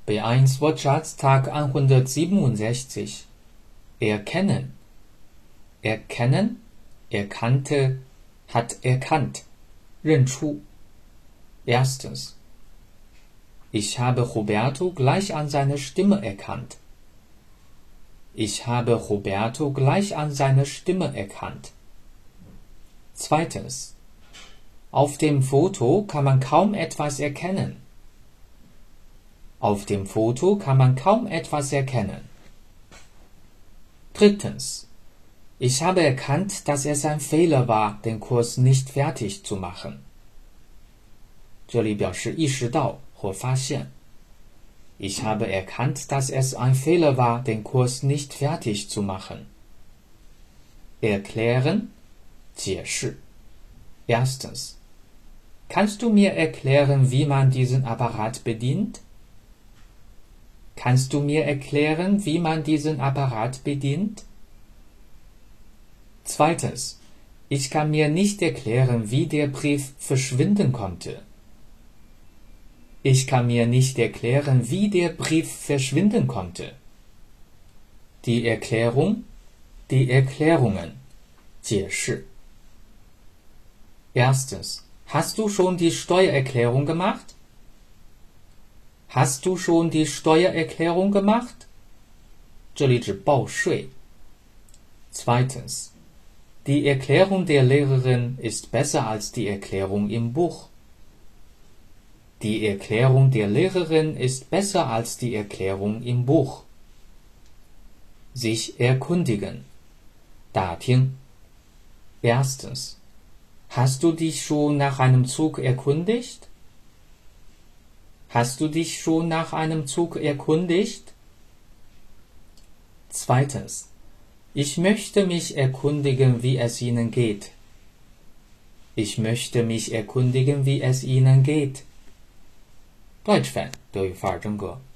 B1 Wortschatz Tag 167. Erkennen. Erkennen, erkannte, hat erkannt. 认出. Erstens. Ich habe Roberto gleich an seiner Stimme erkannt. Ich habe Roberto gleich an seiner Stimme erkannt. Zweitens. Auf dem Foto kann man kaum etwas erkennen. Auf dem Foto kann man kaum etwas erkennen. Drittens. Ich habe erkannt, dass es ein Fehler war, den Kurs nicht fertig zu machen. 这里表示意识到或发现. Ich habe erkannt, dass es ein Fehler war, den Kurs nicht fertig zu machen. Erklären, 解释. Erstens. Kannst du mir erklären, wie man diesen Apparat bedient? Kannst du mir erklären, wie man diesen Apparat bedient? Zweitens. Ich kann mir nicht erklären, wie der Brief verschwinden konnte. Ich kann mir nicht erklären, wie der Brief verschwinden konnte. Die Erklärung, die Erklärungen, 解释. Erstens. Hast du schon die Steuererklärung gemacht? Hast du schon die Steuererklärung gemacht? 这里指报税. Zweitens. Die Erklärung der Lehrerin ist besser als die Erklärung im Buch. Die Erklärung der Lehrerin ist besser als die Erklärung im Buch. Sich erkundigen. 打听. Erstens. Hast du dich schon nach einem Zug erkundigt? Hast du dich schon nach einem Zug erkundigt? Zweitens. Ich möchte mich erkundigen, wie es Ihnen geht. Ich möchte mich erkundigen, wie es Ihnen geht. deutsch版德语范儿真格